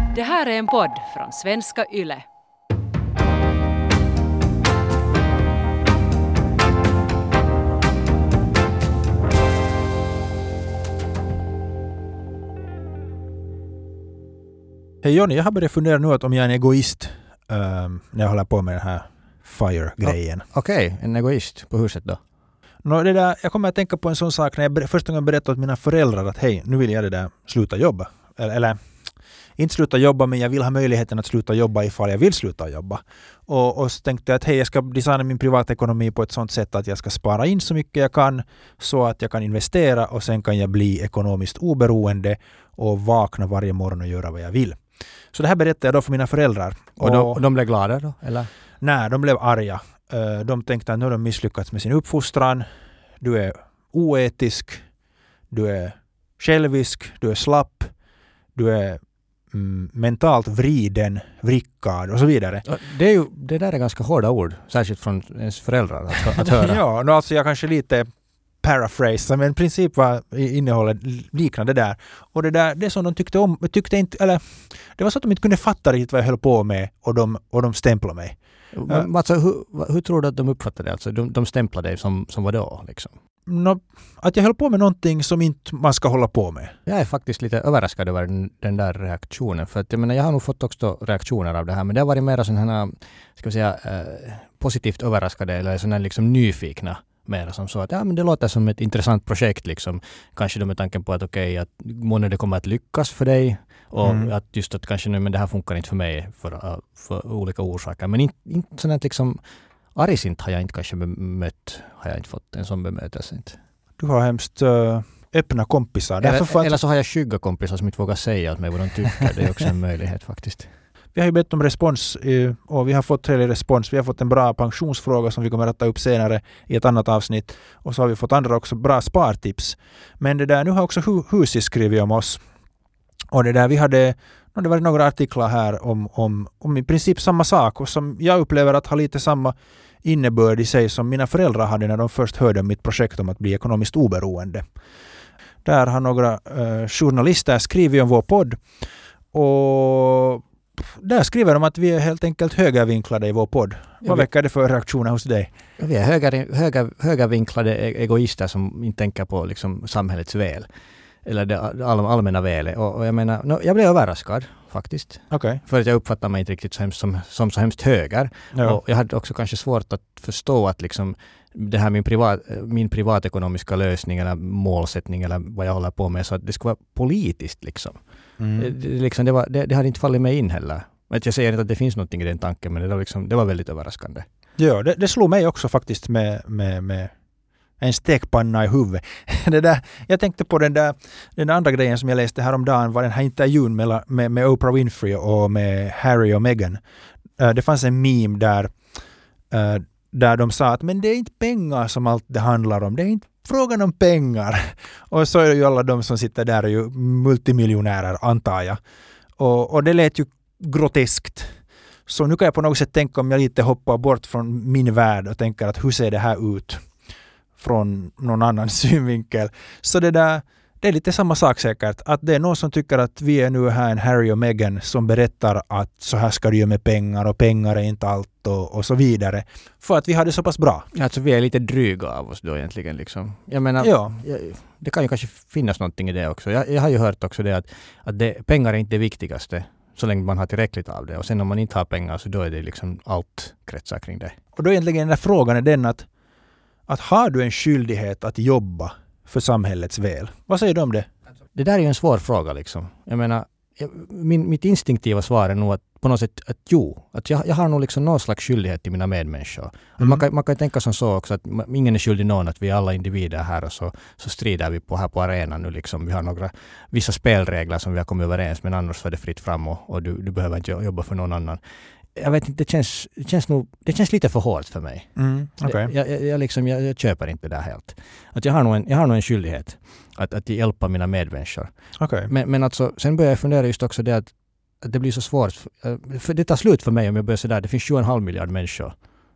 Det här är en podd från Svenska Yle. Hej Jonny, jag har börjat fundera nu att om jag är en egoist när jag håller på med den här FIRE-grejen. Okej, en egoist på huset då? Jag kommer att tänka på en sån sak när jag första gången berättade åt mina föräldrar att hej, nu vill jag sluta jobba. Eller inte sluta jobba, men jag vill ha möjligheten att sluta jobba ifall jag vill sluta jobba. Och så tänkte jag att hej, jag ska designa min privatekonomi på ett sånt sätt att jag ska spara in så mycket jag kan så att jag kan investera och sen kan jag bli ekonomiskt oberoende och vakna varje morgon och göra vad jag vill. Så det här berättade jag då för mina föräldrar. Och de blev glada då? Eller? Nej, de blev arga. De tänkte att nu har de misslyckats med sin uppfostran. Du är oetisk, du är självisk, du är slapp, du är mentalt vriden, vrickad och så vidare. Det där är ganska hårda ord, särskilt från ens föräldrar att höra. Ja, alltså jag kanske lite paraphrase, men i princip var innehållet liknande där. Och det som de tyckte om, det var så att de inte kunde fatta riktigt vad jag höll på med och de stämplade mig. Alltså, hur tror du att de uppfattade det? Alltså, de stämplade dig som vad då? Liksom? Att jag höll på med någonting som inte man ska hålla på med. Jag är faktiskt lite överraskad över den där reaktionen. För att, jag har nog fått också reaktioner av det här. Men det har varit mer sådana här, ska vi säga, positivt överraskade eller sådana liksom nyfikna. Mer som så att men det låter som ett intressant projekt. Liksom. Kanske med tanken på att att månne det kommer att lyckas för dig. Och att just att kanske men det här funkar inte för mig för olika orsaker. Men inte sådant att liksom argsint har jag inte kanske bemött. Har jag inte fått en sån bemötelse. Inte. Du har hemskt öppna kompisar. Eller så har jag skygga kompisar som inte vågar säga åt mig vad de tycker. Det är också en möjlighet faktiskt. Vi har ju bett om respons och vi har fått trevlig respons. Vi har fått en bra pensionsfråga som vi kommer att ta upp senare i ett annat avsnitt. Och så har vi fått andra också bra spartips. Men nu har också Husi skrivit om oss. Och det var några artiklar här om i princip samma sak och som jag upplever att har lite samma innebörd i sig som mina föräldrar hade när de först hörde om mitt projekt om att bli ekonomiskt oberoende. Där har några journalister skrivit om vår podd och där skriver de att vi är helt enkelt högervinklade i vår podd. Vad väcker det för reaktioner hos dig? Vi är högervinklade egoister som inte tänker på liksom samhällets väl. Eller det allmänna välet. Och jag menar, jag blev överraskad faktiskt. Okay. För att jag uppfattar mig inte riktigt som så hemskt höger. Ja. Och jag hade också kanske svårt att förstå att liksom det här min privatekonomiska lösning eller målsättning eller vad jag håller på med så att det ska vara politiskt liksom. Det hade inte fallit mig in heller. Jag säger inte att det finns någonting i den tanken men det var väldigt överraskande. Ja, det slog mig också faktiskt med en stekpanna i huvudet. Jag tänkte på den andra grejen som jag läste häromdagen var den här intervjun med Oprah Winfrey och med Harry och Meghan. Det fanns en meme där de sa att men det är inte pengar som allt det handlar om. Det är inte frågan om pengar. Och så är det ju alla de som sitter där är ju multimiljonärer antar jag. Och det lät ju groteskt. Så nu kan jag på något sätt tänka om jag lite hoppar bort från min värld och tänker att hur ser det här ut från någon annan synvinkel. Så det är lite samma sak säkert. Att det är någon som tycker att vi är nu här en Harry och Meghan som berättar att så här ska du göra med pengar och pengar är inte allt och så vidare. För att vi har det så pass bra. Alltså vi är lite dryga av oss då egentligen liksom. Jag menar, det kan ju kanske finnas någonting i det också. Jag har ju hört också det att pengar är inte det viktigaste så länge man har tillräckligt av det. Och sen om man inte har pengar så då är det liksom allt kretsar kring det. Och då egentligen den där frågan är den att har du en skyldighet att jobba för samhällets väl? Vad säger du om det? Det där är ju en svår fråga liksom. Jag menar, mitt instinktiva svar är nog att på något sätt att jo. Att jag har nog liksom någon slags skyldighet till mina medmänniskor. Man kan tänka som så också att ingen är skyldig någon att vi är alla individer här och så strider vi här på arenan nu liksom. Vi har vissa spelregler som vi har kommit överens men annars är det fritt fram och du behöver inte jobba för någon annan. Jag vet inte, det känns lite för hårt för mig. Okay. Jag köper inte det där helt. Att jag har nog en skyldighet att hjälpa mina medmänniskor. Okay. Men alltså, sen börjar jag fundera just också det att det blir så svårt. För det tar slut för mig om jag börjar sådär. Det finns 7,5 miljard människor.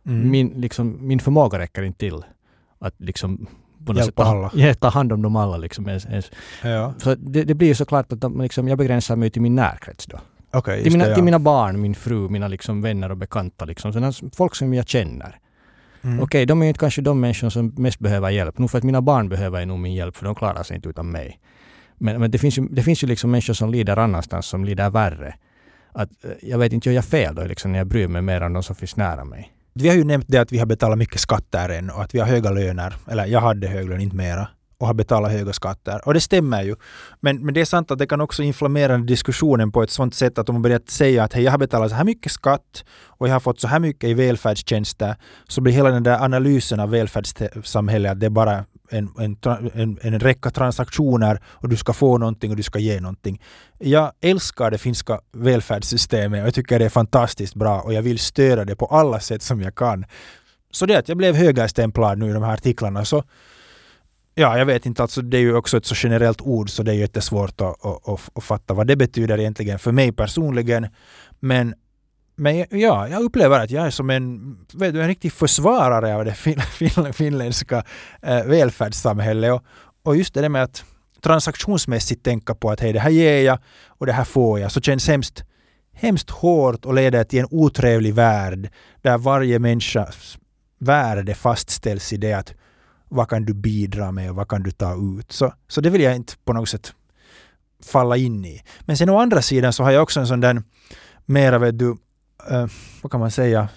Min förmåga räcker inte till att liksom ta hand om dem alla. Liksom, Ja. Så det blir ju såklart att liksom, jag begränsar mig till min närkrets då. Okej, till, just det, ja. till mina barn, min fru, mina liksom vänner och bekanta. Liksom. Sådana folk som jag känner. Okej, de är ju inte kanske de människor som mest behöver hjälp. Nog för att mina barn behöver nog min hjälp, för de klarar sig inte utan mig. Men det finns ju liksom människor som lider annanstans, som lider värre. Att, jag vet inte, jag gör fel då liksom, när jag bryr mig mer om de som finns nära mig. Vi har ju nämnt det att vi har betalat mycket skatter än och att vi har höga löner. Eller jag hade hög lön, inte mera. Och har betalat höga skatter. Och det stämmer ju. Men det är sant att det kan också inflammera diskussionen på ett sånt sätt att om man börjar säga att hej, jag har betalat så här mycket skatt och jag har fått så här mycket i välfärdstjänster, så blir hela den där analysen av välfärdssamhället att det är bara en räcka transaktioner och du ska få någonting och du ska ge någonting. Jag älskar det finska välfärdssystemet och jag tycker det är fantastiskt bra och jag vill stödja det på alla sätt som jag kan. Så det att jag blev högerstämplad nu i de här artiklarna, så ja, jag vet inte, alltså det är ju också ett så generellt ord så det är jättesvårt att fatta vad det betyder egentligen för mig personligen. Men ja, jag upplever att jag är som en riktig försvarare av det finländska välfärdssamhället. Och just det där med att transaktionsmässigt tänka på att hej, det här ger jag och det här får jag, så känns hemskt hårt och leder till en otrevlig värld där varje människas värde fastställs i det att vad kan du bidra med och vad kan du ta ut. Så det vill jag inte på något sätt falla in i. Men sen å andra sidan så har jag också en sån där mera, vad kan man säga,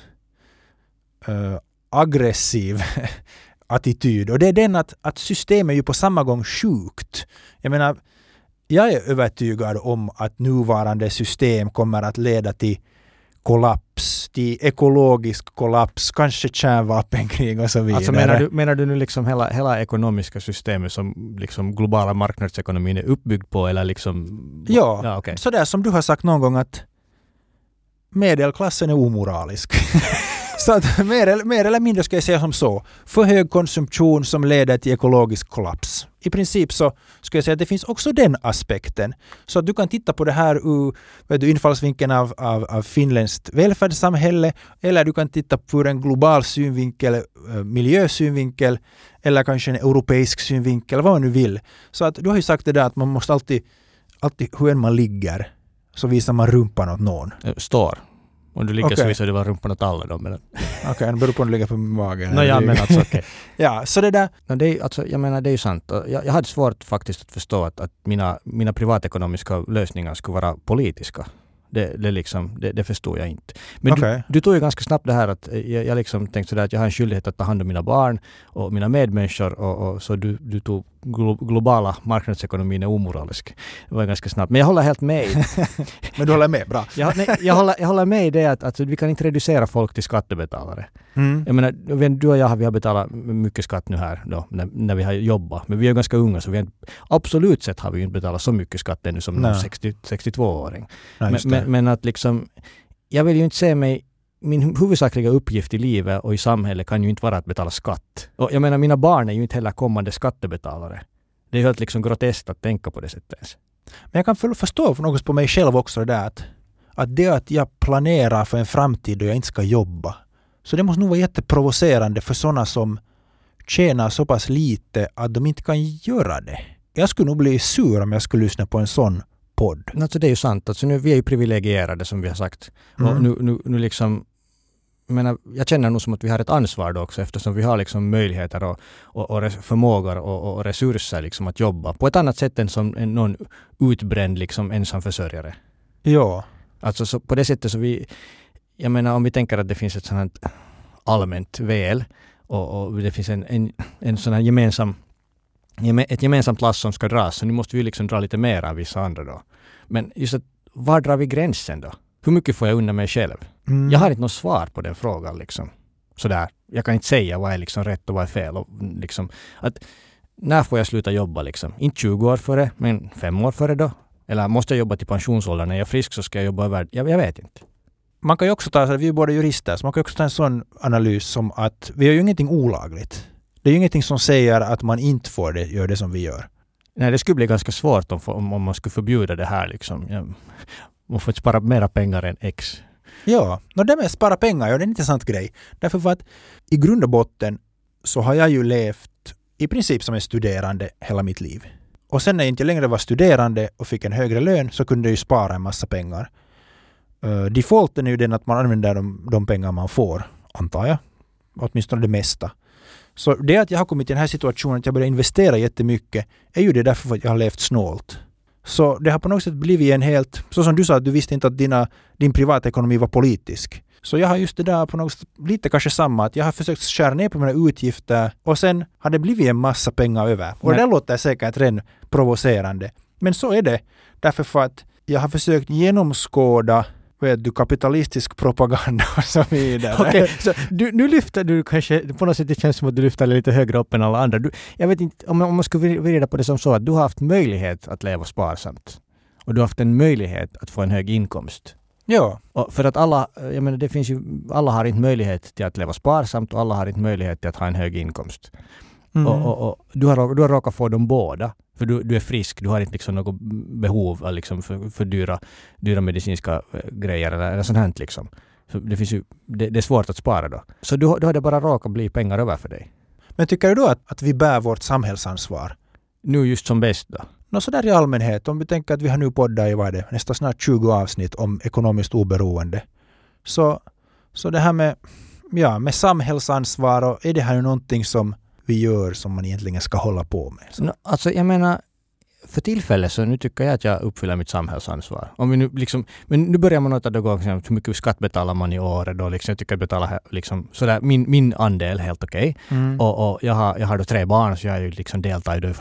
aggressiv attityd. Och det är den att systemet är ju på samma gång sjukt. Jag menar, jag är övertygad om att nuvarande system kommer att leda till kollaps, till ekologisk kollaps, kanske kärnvapenkrig och så vidare. Alltså menar du nu liksom hela ekonomiska systemet som liksom globala marknadsekonomin är uppbyggd på, eller liksom? Ja, okay. Så där som du har sagt någon gång att medelklassen är omoralisk. Så att mer eller mindre ska jag säga som så. För hög konsumtion som leder till ekologisk kollaps. I princip så ska jag säga att det finns också den aspekten. Så att du kan titta på det här ur infallsvinkeln av finländskt välfärdssamhälle, eller du kan titta på en global synvinkel, miljösynvinkel, eller kanske en europeisk synvinkel, vad man nu vill. Så att du har ju sagt det där att man måste alltid hur än man ligger så visar man rumpan åt någon. Står. Om du ligger så visar du bara rumpan åt alla då. Okej, det beror på om du ligger på magen. Men alltså okej. Ja, så det där. No, jag menar, det är ju sant. Jag hade svårt faktiskt att förstå att mina privatekonomiska lösningar skulle vara politiska. Det förstår jag inte. Men du tog ju ganska snabbt det här att jag liksom tänkte sådär att jag har en skyldighet att ta hand om mina barn och mina medmänniskor, och så du tog globala marknadsekonomin är omoralisk. Det var ganska snabbt. Men jag håller helt med. Men du håller med, bra. Jag håller med i det att vi kan inte reducera folk till skattebetalare. Jag menar, du och jag har betalat mycket skatt nu här då, när vi har jobbat. Men vi är ganska unga, så absolut sett har vi inte betalat så mycket skatt ännu som en 62-åring. Men att liksom, jag vill ju inte se mig, min huvudsakliga uppgift i livet och i samhället kan ju inte vara att betala skatt. Och jag menar, mina barn är ju inte heller kommande skattebetalare. Det är helt liksom groteskt att tänka på det sättet ens. Men jag kan förstå för något på mig själv också det där att jag planerar för en framtid då jag inte ska jobba. Så det måste nog vara jätteprovocerande för sådana som tjänar så pass lite att de inte kan göra det. Jag skulle nog bli sur om jag skulle lyssna på en sån podd. Alltså det är ju sant. Alltså nu, vi är ju privilegierade som vi har sagt. Och nu liksom, jag känner nog som att vi har ett ansvar då också, eftersom vi har liksom möjligheter och förmågor och resurser liksom att jobba på ett annat sätt än som någon utbränd liksom ensamförsörjare. Ja. Alltså så på det sättet så jag menar, om vi tänker att det finns ett sådant allmänt väl och det finns en sån här ett gemensamt lass som ska dras, så nu måste vi liksom dra lite mer av vissa andra då. Men just att, var drar vi gränsen då? Hur mycket får jag undan mig själv? Jag har inte något svar på den frågan liksom. Sådär, jag kan inte säga vad är liksom rätt och vad är fel. Och liksom, att, när får jag sluta jobba liksom? Inte 20 år före, men 5 år före då? Eller måste jag jobba till pensionsåldern? När jag är frisk så ska jag jobba över. Jag vet inte. Man kan ju också ta, vi är båda jurister, så man kan också ta en sån analys som att vi har ju ingenting olagligt. Det är ju ingenting som säger att man inte får göra det som vi gör. Nej, det skulle bli ganska svårt om man skulle förbjuda det här liksom. Man får inte spara mera pengar än X. Ja, det med att spara pengar, det är en intressant grej. Därför för att i grund och botten så har jag ju levt i princip som en studerande hela mitt liv. Och sen när jag inte längre var studerande och fick en högre lön så kunde jag ju spara en massa pengar. defaulten är ju den att man använder de pengar man får, antar jag. Åtminstone det mesta. Så det att jag har kommit i den här situationen att jag börjar investera jättemycket är ju det därför att jag har levt snålt. Så det har på något sätt blivit en helt, så som du sa att du visste inte att din privatekonomi var politisk. Så jag har just det där på något sätt lite kanske samma, att jag har försökt skära ner på mina utgifter och sen har det blivit en massa pengar över. Och det låter säkert redan provocerande. Men så är det. Därför för att jag har försökt genomskåda kapitalistisk propaganda och så vidare. Okej, så nu lyfter du kanske, på något sätt det känns som att du lyfter lite högre upp än alla andra. Jag vet inte, om man skulle vrida på det som så att du har haft möjlighet att leva sparsamt. Och du har haft en möjlighet att få en hög inkomst. Ja. Och för att alla, jag menar det finns ju, alla har inte möjlighet till att leva sparsamt och alla har inte möjlighet till att ha en hög inkomst. Och du har råkat få dem båda. För du är frisk, du har inte liksom något behov av liksom för dyra medicinska grejer eller sånt här liksom. Så det finns ju, det är svårt att spara då. Så du har det bara råkat bli pengar över för dig. Men tycker du då att vi bär vårt samhällsansvar? Nu just som bäst då? Så där i allmänhet, om vi tänker att vi har nu poddat i nästan snart 20 avsnitt om ekonomiskt oberoende. Så det här med samhällsansvar, och är det här någonting som vi gör som man egentligen ska hålla på med? Alltså jag menar, för tillfället så nu tycker jag att jag uppfyller mitt samhällsansvar. Om vi nu liksom, men nu börjar man nota då hur mycket skatt betalar man i året då liksom, jag tycker att betala liksom sådär min andel helt okej. Och jag har då 3 barn så jag är ju liksom deltar i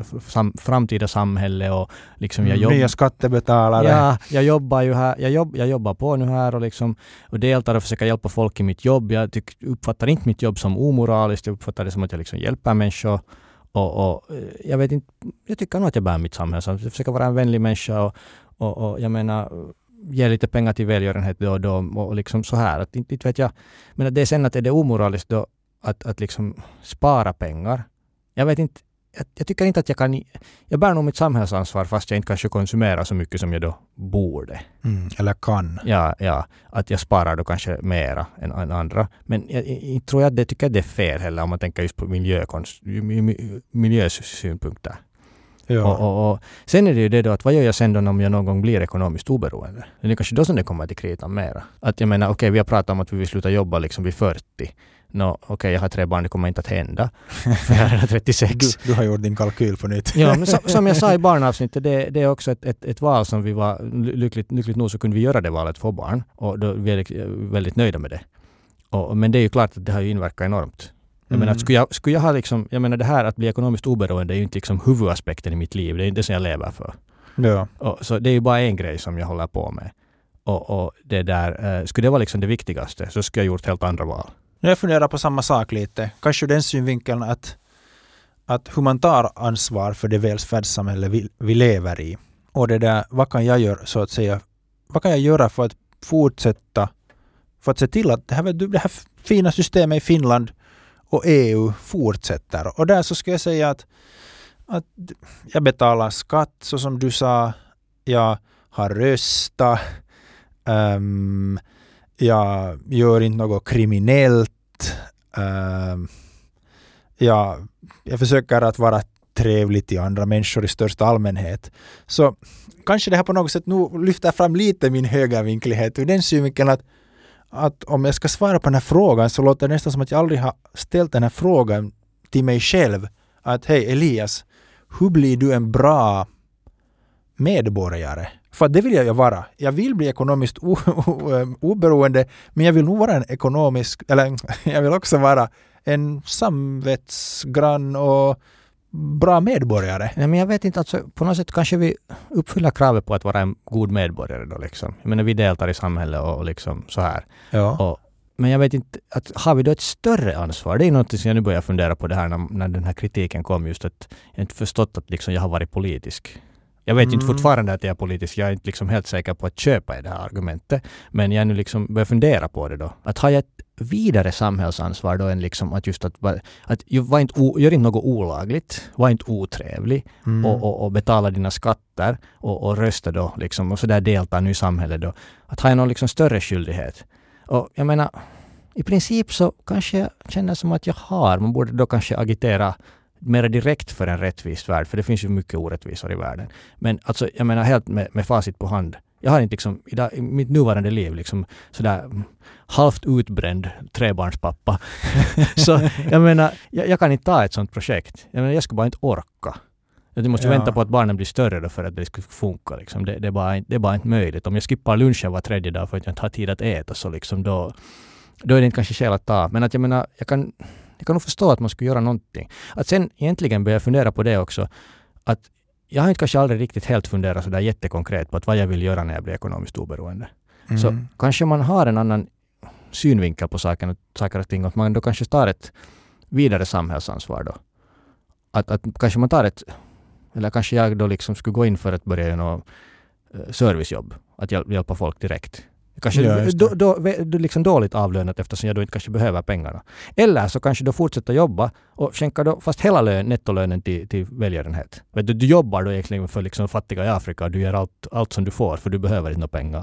framtida samhälle och liksom jag jobbar. Nya skattebetalare. Ja, jag jobbar ju här, jag jobbar på nu här och liksom och deltar och försöker hjälpa folk i mitt jobb. Jag uppfattar inte mitt jobb som omoraliskt, jag uppfattar det som att jag liksom hjälper människor. Och jag vet inte, jag tycker nog att jag bär mitt samhälle. Så jag försöker vara en vänlig människa och jag menar ge lite pengar till välgörenhet då och då och liksom så här. Att inte vet jag, men det är sen att är det omoraliskt då att liksom spara pengar. Jag vet inte, jag tycker inte att jag bär nog mitt samhällsansvar fast jag inte kanske konsumerar så mycket som jag då borde. Eller kan. Ja, att jag sparar då kanske mera än andra. Men jag tror att det är fel heller om man tänker just på miljösynpunkter. Ja. Och sen är det ju det då att vad gör jag sen då om jag någon gång blir ekonomiskt oberoende? Det är kanske då som det kommer till kritan mera. Att jag menar, okej, vi har pratat om att vi vill sluta jobba liksom vid 40. Okej, jag har 3 barn, det kommer inte att hända. För jag är 36. Du har gjort din kalkyl på nytt. Ja, men som jag sa i barnavsnittet, det är också ett val som vi var lyckligt nog så kunde vi göra det valet för barn. Och då är vi väldigt nöjda med det. Men det är ju klart att det har ju inverkat enormt. Jag menar, skulle jag ha liksom, jag menar det här att bli ekonomiskt oberoende är ju inte liksom huvudaspekten i mitt liv. Det är inte det som jag lever för. Ja. Så det är ju bara en grej som jag håller på med. Och det där, skulle det vara liksom det viktigaste så skulle jag gjort helt andra val. Jag funderar på samma sak lite. Kanske den synvinkeln att hur man tar ansvar för det välfärdssamhälle vi lever i. Och det där, vad kan jag göra så att säga? Vad kan jag göra för att fortsätta, för att se till att det här fina systemet i Finland och EU fortsätter. Och där så ska jag säga att jag betalar skatt så som du sa. Jag har röstat. Jag gör inte något kriminellt. Jag försöker att vara trevlig till andra människor i största allmänhet. Så kanske det här på något sätt nu lyfter fram lite min högervinklighet ur den synvinkeln att om jag ska svara på den här frågan så låter det nästan som att jag aldrig har ställt den här frågan till mig själv. Att hej Elias, hur blir du en bra medborgare? För det vill jag vara. Jag vill bli ekonomiskt oberoende, men jag vill nog vara jag vill också vara en samvetsgrann och bra medborgare. Nej, men jag vet inte, alltså, på något sätt kanske vi uppfyller kravet på att vara en god medborgare då liksom. Jag menar, vi deltar i samhället och liksom så här. Ja. Men jag vet inte, har vi då ett större ansvar? Det är något som jag nu börjar fundera på det här när den här kritiken kom, just att jag inte förstått att liksom jag har varit politisk. Jag vet inte fortfarande att jag är politisk. Jag är inte liksom helt säker på att köpa i det här argumentet. Men jag nu liksom börjar fundera på det då. Att har jag ett vidare samhällsansvar då än liksom att just att gör inte något olagligt, var inte otrevlig och betala dina skatter och rösta då liksom och så där delta nu i samhället då. Att har jag någon liksom större skyldighet. Och jag menar, i princip så kanske jag känner som att jag har. Man borde då kanske agitera mer direkt för en rättvis värld, för det finns ju mycket orättvisor i världen. Men alltså, jag menar helt med facit på hand, Jag har inte liksom i mitt nuvarande liv liksom sådär halvt utbränd trebarnspappa. Så jag menar, jag kan inte ta ett sånt projekt. Jag menar, jag skulle bara inte orka. Jag måste vänta på att barnen blir större då för att det ska funka. Liksom. Det är bara inte möjligt. Om jag skippar lunchen var tredje dag för att jag inte har tid att äta så liksom då är det inte kanske skäl att ta. Men att jag menar, jag kan nog förstå att man skulle göra någonting. Att sen egentligen börja fundera på det också. Att jag har inte kanske aldrig riktigt helt funderat så där jättekonkret på att vad jag vill göra när jag blir ekonomiskt oberoende. Så kanske man har en annan synvinkel på saker och ting. Att man då kanske tar ett vidare samhällsansvar då. Att kanske man tar eller kanske jag då liksom skulle gå in för att börja göra något servicejobb. Att hjälpa folk direkt. Kanske då liksom dåligt avlönat eftersom jag då inte kanske behöver pengarna. Eller så kanske då fortsätta jobba och skänka då fast hela nettolönen till välgörenhet. Du jobbar då egentligen för liksom fattiga i Afrika och du gör allt som du får för du behöver inte pengar.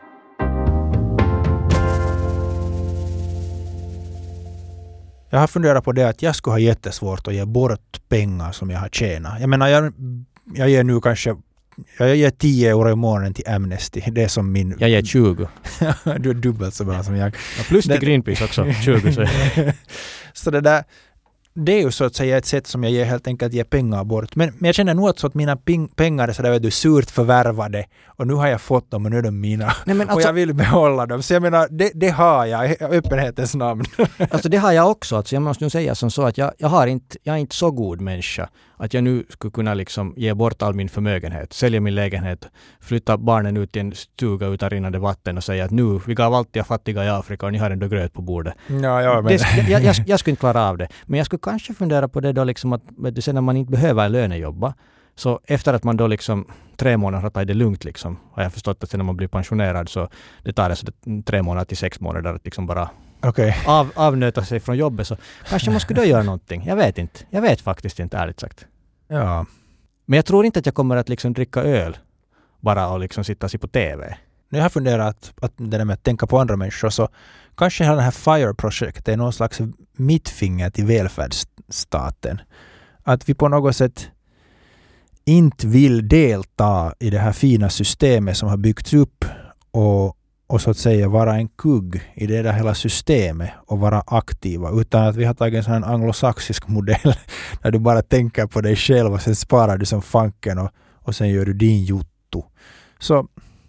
Jag har funderat på det att jag skulle ha jättesvårt att ge bort pengar som jag har tjänat. Jag menar, jag ger nu kanske jag ger 10 euro i månaden till Amnesty. Det är som min... Jag ger 20. Du är dubbelt så bra som jag. Ja, plus till Greenpeace också. 20. Så det är ju så att säga ett sätt som jag helt enkelt ger pengar bort. Men jag känner nog att mina pengar är sådär surt förvärvade och nu har jag fått dem och nu är de mina. Nej, men alltså, och jag vill behålla dem. Så jag menar, det har jag i öppenhetens namn. Alltså det har jag också. Alltså jag måste nu säga som så att jag är inte så god människa att jag nu skulle kunna liksom ge bort all min förmögenhet, sälja min lägenhet, flytta barnen ut i en stuga utan rinnande vatten och säga att nu, vi gav alltid fattiga i Afrika och ni har ändå gröt på bordet. Ja, men... jag skulle inte klara av det. Men jag skulle kanske fundera på det då liksom att sen när man inte behöver lönejobba, så efter att man då liksom 3 månader har tagit det lugnt liksom, har jag förstått att sen när man blir pensionerad så det tar alltså 3 månader till 6 månader att liksom bara avnöta sig från jobbet, så kanske man skulle då göra någonting. Jag vet faktiskt inte, ärligt sagt. Ja. Men jag tror inte att jag kommer att liksom dricka öl bara och liksom sitta sig på TV. Jag har funderat att det där med att tänka på andra människor, så kanske hela det här FIRE-projektet är någon slags mittfinger till välfärdsstaten. Att vi på något sätt inte vill delta i det här fina systemet som har byggts upp och så att säga vara en kugg i det där hela systemet och vara aktiva, utan att vi har tagit en sån här anglosaxisk modell där du bara tänker på dig själv och sen sparar du som fanken och sen gör du din jotto. Så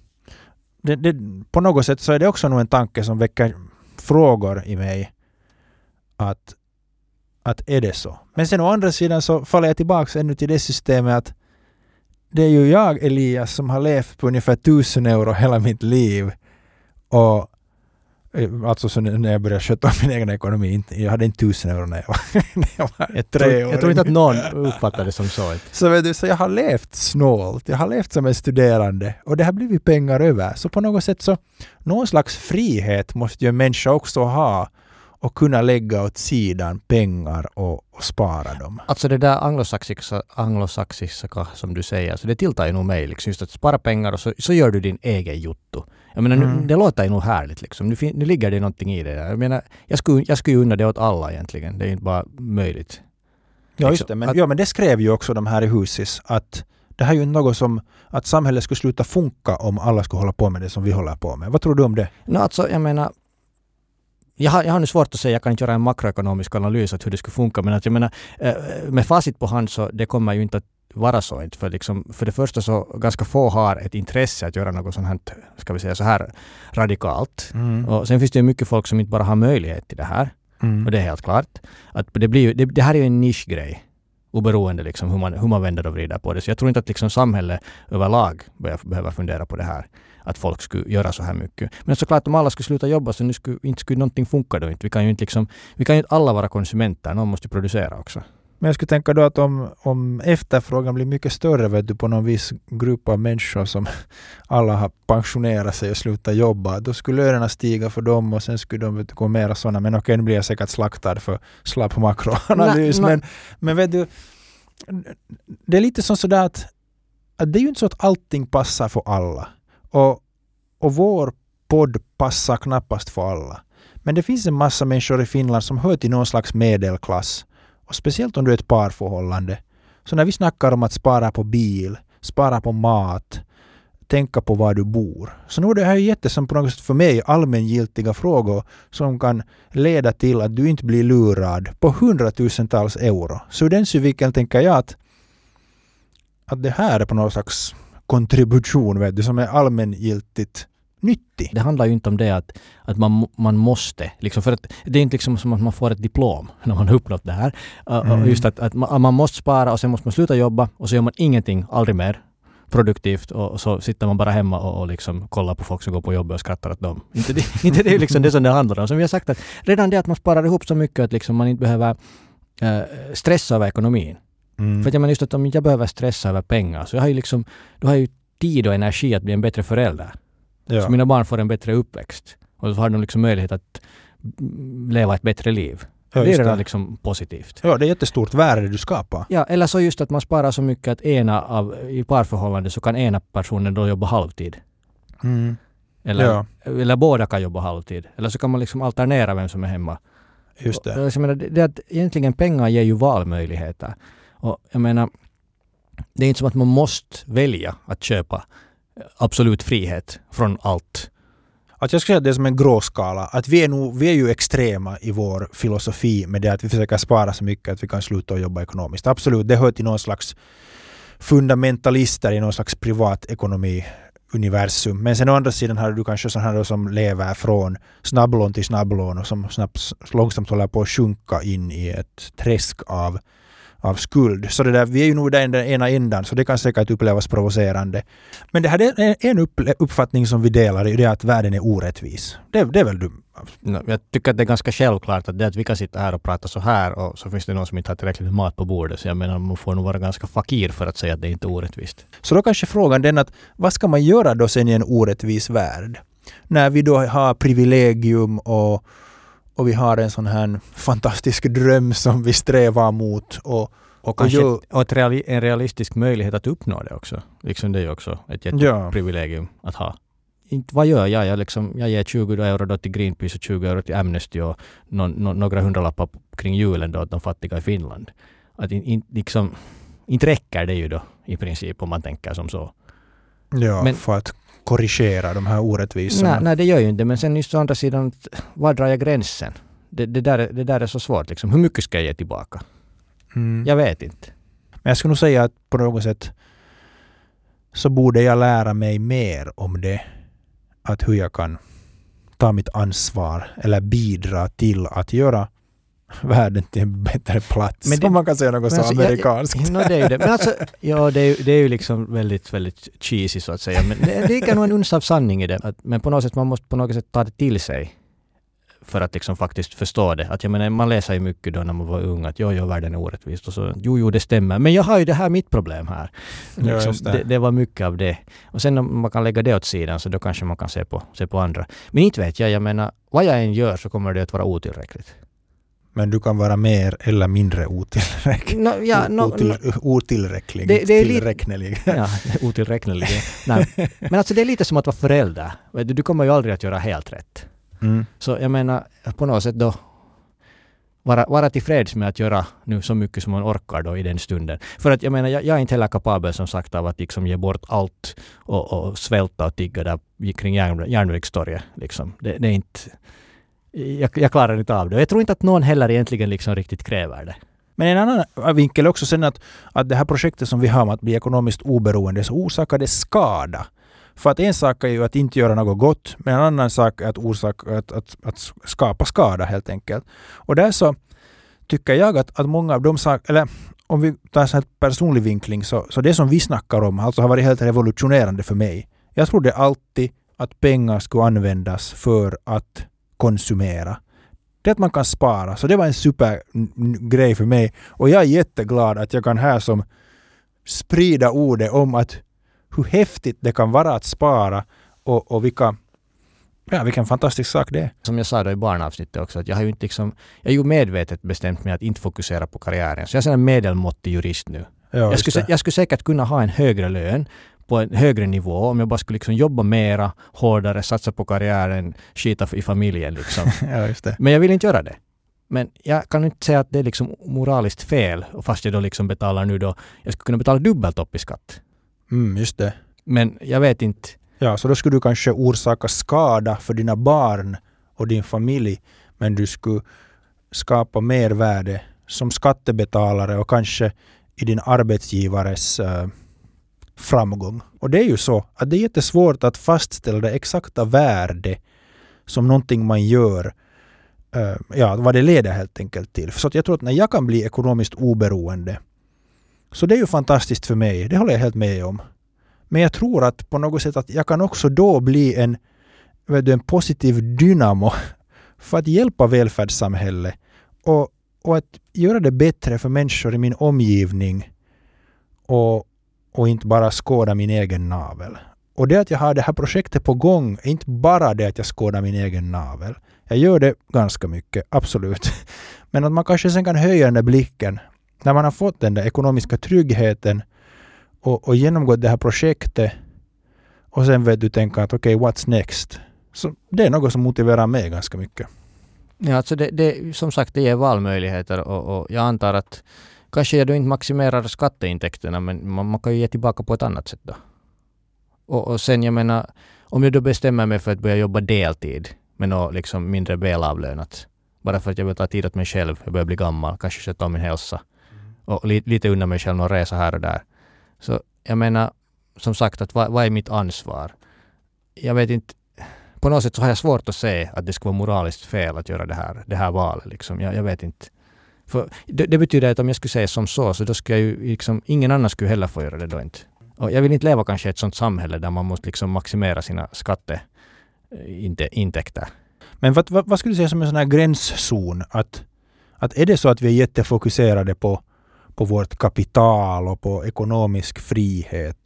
på något sätt så är det också nog en tanke som väcker frågor i mig att är det så. Men sen å andra sidan så faller jag tillbaka ännu till det systemet att det är ju jag, Elias, som har levt på ungefär 1000 euro hela mitt liv. Och alltså så när jag började sköta min egen ekonomi, jag hade inte 1000 euro när jag var 3 år. Jag tror inte att någon uppfattade det som så. Så jag har levt snålt, jag har levt som en studerande och det har blivit pengar över. Så på något sätt så någon slags frihet måste ju en människa också ha och kunna lägga åt sidan pengar och spara dem. Alltså det där anglosaxiska som du säger, så det tilltar ju nog mig liksom, just att spara pengar och så gör du din egen jotto. Jag menar, det låter ju nog härligt liksom. Nu ligger det någonting i det där. Jag menar, jag skulle unna det åt alla egentligen. Det är inte bara möjligt. Ja, just det. Men det skrev ju också de här i Husis att det här är ju något som att samhället skulle sluta funka om alla skulle hålla på med det som vi håller på med. Vad tror du om det? Alltså, jag menar, jag har nu svårt att säga, jag kan inte göra en makroekonomisk analys av hur det skulle funka, men att jag menar, med facit på hand så det kommer ju inte att vara så. För det första så ganska få har ett intresse att göra något sånt här, ska vi säga så här radikalt. Och sen finns det ju mycket folk som inte bara har möjlighet till det här. Och det är helt klart. Att det här är ju en nischgrej. Oberoende liksom hur man vänder och vrider på det. Så jag tror inte att liksom samhället överlag behöver fundera på det här. Att folk skulle göra så här mycket. Men såklart om alla skulle sluta jobba så inte skulle någonting funka då inte. Vi kan ju inte alla vara konsumenter. Någon måste producera också. Men jag skulle tänka då att om efterfrågan blir mycket större på någon viss grupp av människor som alla har pensionerat sig och slutat jobba, då skulle lönerna stiga för dem och sen skulle de gå mera sådana. Men okej, nu blir jag säkert slaktad för slapp makroanalys. Men vet du, det är lite som sådär att det är ju inte så att allting passar för alla. Och vår podd passar knappast för alla. Men det finns en massa människor i Finland som hör till någon slags medelklass. Och speciellt om du är ett parförhållande. Så när vi snackar om att spara på bil, spara på mat, tänka på var du bor. Så nu är det här jättesam på något sätt för mig allmängiltiga frågor som kan leda till att du inte blir lurad på 100,000-tals euro. Så ur den synvinkeln tänker jag att det här är på något slags kontribution, vet du, som är allmängiltigt nyttig. Det handlar ju inte om det att man måste. Liksom, för att det är inte liksom som att man får ett diplom när man har uppnått det här. Just att man måste spara och sen måste man sluta jobba och så gör man ingenting, aldrig mer produktivt och så sitter man bara hemma och liksom kollar på folk som går på jobbet och skrattar åt dem. Inte det är liksom det som det handlar om. Som vi har sagt, att redan det att man sparar ihop så mycket att liksom man inte behöver stressa över ekonomin. För att jag menar just att om jag behöver stressa över pengar så då har jag ju tid och energi att bli en bättre förälder. Ja. Så mina barn får en bättre uppväxt. Och så har de liksom möjlighet att leva ett bättre liv. Ja, det är redan liksom positivt. Ja, det är jättestort värde du skapar. Ja, eller så just att man sparar så mycket att i parförhållande så kan ena personen då jobba halvtid. Eller båda kan jobba halvtid. Eller så kan man liksom alternera vem som är hemma. Just det. Och jag menar, det att egentligen pengar ger ju valmöjligheter. Och jag menar, det är inte som att man måste välja att köpa absolut frihet från allt. Att jag skulle säga att det är som en gråskala. Att vi är ju extrema i vår filosofi med det att vi försöker spara så mycket att vi kan sluta och jobba ekonomiskt. Absolut, det hör till någon slags fundamentalister i någon slags privatekonomi-universum. Men sen å andra sidan har du kanske sådana här som lever från snabblån till snabblån och som långsamt håller på att sjunka in i ett träsk av skuld. Så det där, vi är ju nog där i den ena ändan, så det kan säkert upplevas provocerande. Men det här är en uppfattning som vi delar, i det att världen är orättvis. Det är väl du? Jag tycker att det är ganska självklart att det att vi kan sitta här och prata så här och så finns det någon som inte har tillräckligt med mat på bordet. Så jag menar, man får nog vara ganska fakir för att säga att det inte är orättvist. Så då kanske frågan den att vad ska man göra då sen i en orättvis värld? När vi då har privilegium och vi har en sån här fantastisk dröm som vi strävar mot. Och kanske en realistisk möjlighet att uppnå det också. Liksom det är ju också ett jätteprivilegium att ha. Inte, vad gör jag? Jag ger 20 euro då till Greenpeace och 20 euro till Amnesty och några hundralappar kring julen då åt de fattiga i Finland. Att inte räcker det ju då i princip om man tänker som så. Ja, men för att korrigera de här orättvisorna. Nej, det gör ju inte. Men sen just å andra sidan, var drar jag gränsen? Det där är så svårt. Liksom. Hur mycket ska jag ge tillbaka? Jag vet inte. Men jag skulle nog säga att på något sätt så borde jag lära mig mer om det. Att hur jag kan ta mitt ansvar eller bidra till att göra världen till en bättre plats. Men om man kan säga något så amerikanskt. Det är ju det. Men alltså, ja, det är ju liksom väldigt, väldigt cheesy så att säga. Men det ligger nog en uns av sanning i det. Men på något sätt, man måste på något sätt ta det till sig för att liksom faktiskt förstå det. Att jag menar, man läser ju mycket då när man var ung att världen är orättvist och så, jo, det stämmer. Men jag har ju det här mitt problem här. Liksom, det var mycket av det. Och sen om man kan lägga det åt sidan så då kanske man kan se på andra. Men inte vet jag menar, vad jag än gör så kommer det att vara otillräckligt. Men du kan vara mer eller mindre otillräcklig. Otillräcklig. Tillräknelig. Ja, otillräknelig. Nej. Men alltså det är lite som att vara förälder. Du kommer ju aldrig att göra helt rätt. Så jag menar på något sätt då vara tillfreds med att göra nu så mycket som man orkar då i den stunden. För att jag menar, jag är inte heller kapabel som sagt av att liksom ge bort allt och svälta och tigga där kring järnvägstorget. Liksom. Det är inte... Jag klarar inte av det. Jag tror inte att någon heller egentligen liksom riktigt kräver det. Men en annan vinkel också sen att det här projektet som vi har om att bli ekonomiskt oberoende så orsakar det skada. För att en sak är ju att inte göra något gott, men en annan sak är att skapa skada helt enkelt. Och där så tycker jag att många av de saker, eller om vi tar en sån här personlig vinkling så det som vi snackar om alltså har varit helt revolutionerande för mig. Jag trodde alltid att pengar skulle användas för att konsumera. Det att man kan spara. Så det var en supergrej för mig. Och jag är jätteglad att jag kan här som sprida ordet om att hur häftigt det kan vara att spara och vilken fantastisk sak det är. Som jag sa då i barnavsnittet också, att jag har ju inte jag är ju medvetet bestämt mig att inte fokusera på karriären. Så jag är en medelmåttig jurist nu. Ja, jag skulle säkert kunna ha en högre lön på en högre nivå om jag bara skulle jobba mera, hårdare, satsa på karriären, skita i familjen liksom. Ja, just det. Men jag vill inte göra det. Men jag kan inte säga att det är moraliskt fel, och fast jag då betalar nu då, jag skulle kunna betala dubbelt upp i skatt. Just det. Men jag vet inte. Ja, så då skulle du kanske orsaka skada för dina barn och din familj, men du skulle skapa mervärde som skattebetalare och kanske i din arbetsgivares framgång. Och det är ju så att det är jättesvårt att fastställa det exakta värde som någonting man gör, vad det leder helt enkelt till. Så att jag tror att när jag kan bli ekonomiskt oberoende, så det är ju fantastiskt för mig, det håller jag helt med om. Men jag tror att på något sätt att jag kan också då bli en positiv dynamo för att hjälpa välfärdssamhället och att göra det bättre för människor i min omgivning och inte bara skåda min egen navel. Och det att jag har det här projektet på gång är inte bara det att jag skådar min egen navel. Jag gör det ganska mycket, absolut. Men att man kanske sen kan höja den där blicken när man har fått den där ekonomiska tryggheten och genomgått det här projektet och sen vet du tänka att okej, what's next? Så det är något som motiverar mig ganska mycket. Ja, alltså det som sagt, det ger valmöjligheter och jag antar att kanske jag då inte maximerar skatteintäkterna, men man kan ju ge tillbaka på ett annat sätt då. Och sen jag menar, om jag då bestämmer mig för att börja jobba deltid med något liksom mindre välavlönat, bara för att jag vill ta tid åt mig själv, jag börjar bli gammal, kanske sköta om min hälsa och lite undan mig själv och resa här och där. Så jag menar, som sagt, att vad är mitt ansvar? Jag vet inte, på något sätt så har jag svårt att se att det ska vara moraliskt fel att göra det här valet. Liksom. Jag vet inte. För det betyder att om jag skulle säga som så då skulle jag ju liksom, ingen annan skulle heller få göra det då inte. Och jag vill inte leva kanske i ett sånt samhälle där man måste liksom maximera sina skatteintäkter. Men vad skulle du säga som en sån här gränszon? Att är det så att vi är jättefokuserade på vårt kapital och på ekonomisk frihet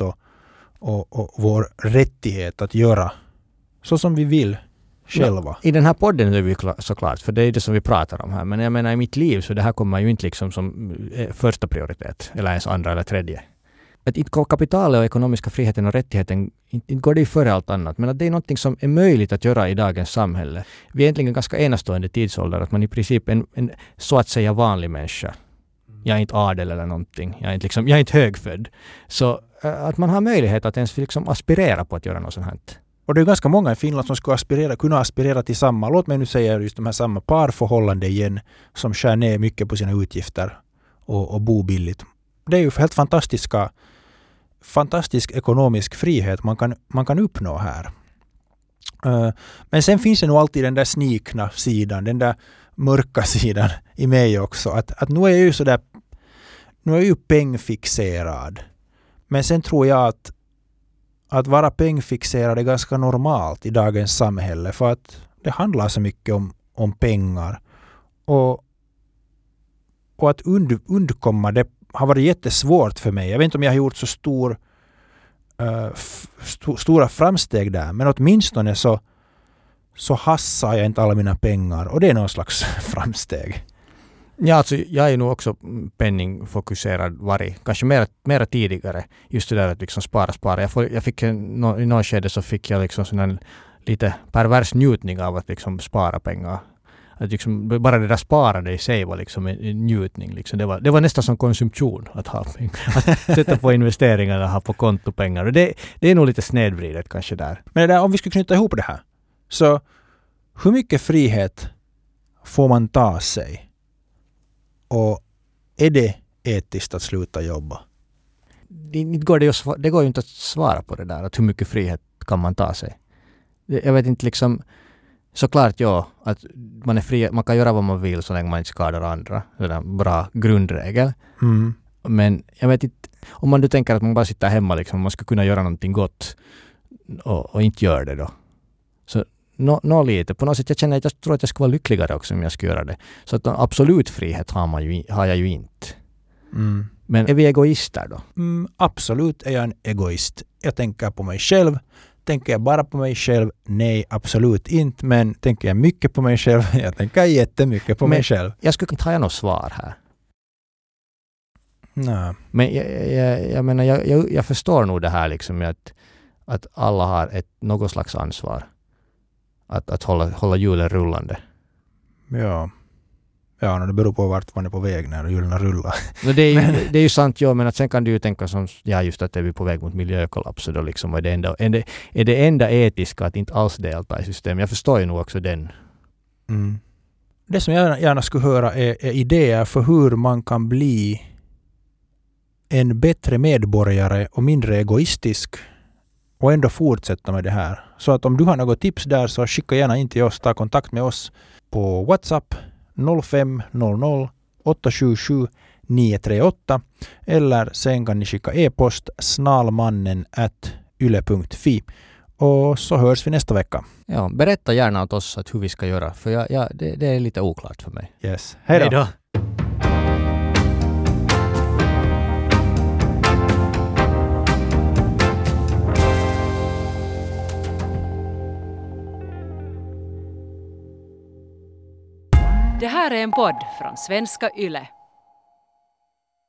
och vår rättighet att göra så som vi vill själva? Ja, i den här podden är vi såklart, för det är det som vi pratar om här. Men jag menar i mitt liv så det här kommer ju inte liksom som första prioritet eller ens andra eller tredje. Att inte kapitalet och ekonomiska friheten och rättigheten inte går det ju före allt annat. Men att det är något som är möjligt att göra i dagens samhälle. Vi är egentligen ganska enastående tidsålder att man i princip är en så att säga vanlig människa. Jag är inte adel eller någonting. Jag är inte högfödd. Så att man har möjlighet att ens liksom aspirera på att göra något sånt här. Och det är ganska många i Finland som skulle kunna aspirera till samma, låt mig nu säga just de här samma parförhållande igen, som skär ner mycket på sina utgifter och bor billigt. Det är ju helt fantastisk ekonomisk frihet man kan uppnå här. Men sen finns det nog alltid den där snikna sidan, den där mörka sidan i mig också. Att nu är jag ju sådär, nu är jag ju pengfixerad. Men sen tror jag att vara pengfixerad är ganska normalt i dagens samhälle, för att det handlar så mycket om pengar. Och att undkomma det har varit jättesvårt för mig. Jag vet inte om jag har gjort så stora framsteg där, men åtminstone så hassar jag inte alla mina pengar, och det är någon slags framsteg. Ja, alltså jag är nog också penningfokuserad kanske mera tidigare. Just det där att liksom spara. Jag fick i någon skede så fick jag liksom sån här lite pervers njutning av att liksom spara pengar. Att liksom, bara det där sparande i sig var liksom en njutning. Liksom. Det var nästan som konsumtion att ha pengar. Att sätta på investeringar och ha på kontopengar. Och det är nog lite snedvridet kanske där. Men det där, om vi skulle knyta ihop det här. Så hur mycket frihet får man ta sig? Och är det etiskt att sluta jobba? Det går ju inte att svara på det där. Att hur mycket frihet kan man ta sig? Jag vet inte liksom. Såklart ja, att man är fri, man kan göra vad man vill så länge man inte skadar andra. Det är en bra grundregel. Mm. Men jag vet inte, om man nu tänker att man bara sitter hemma liksom, man skulle kunna göra någonting gott och inte gör det då. Så lite. På något sätt jag tror att jag skulle vara lyckligare också om jag skulle göra det. Så att absolut frihet har jag ju inte. Mm. Men är vi egoister då? Absolut är jag en egoist. Jag tänker på mig själv. Tänker jag bara på mig själv? Nej, absolut inte. Men tänker jag mycket på mig själv? Jag tänker jättemycket på mig själv. Jag skulle inte ha något svar här. Nej. Men jag menar, jag förstår nog det här liksom att alla har något slags ansvar. Att hålla hjulen rullande. Ja. Ja, det beror på vart man är på väg när hjulen rullar. Det är ju sant, ja, men att sen kan du ju tänka som, ja, just att vi är på väg mot miljökollaps, och då liksom är det enda etiska att inte alls delta i systemet. Jag förstår ju nog också den. Mm. Det som jag gärna skulle höra är idéer för hur man kan bli en bättre medborgare och mindre egoistisk och ändå fortsätta med det här. Så att om du har något tips där, så skicka gärna in till oss, ta kontakt med oss på WhatsApp 0500 877 938, eller sen kan ni skicka e-post snalmannen@yle.fi, och så hörs vi nästa vecka. Ja, berätta gärna åt oss hur vi ska göra, för det är lite oklart för mig. Yes. Hej då! Hej då. Det här är en podd från svenska Yle.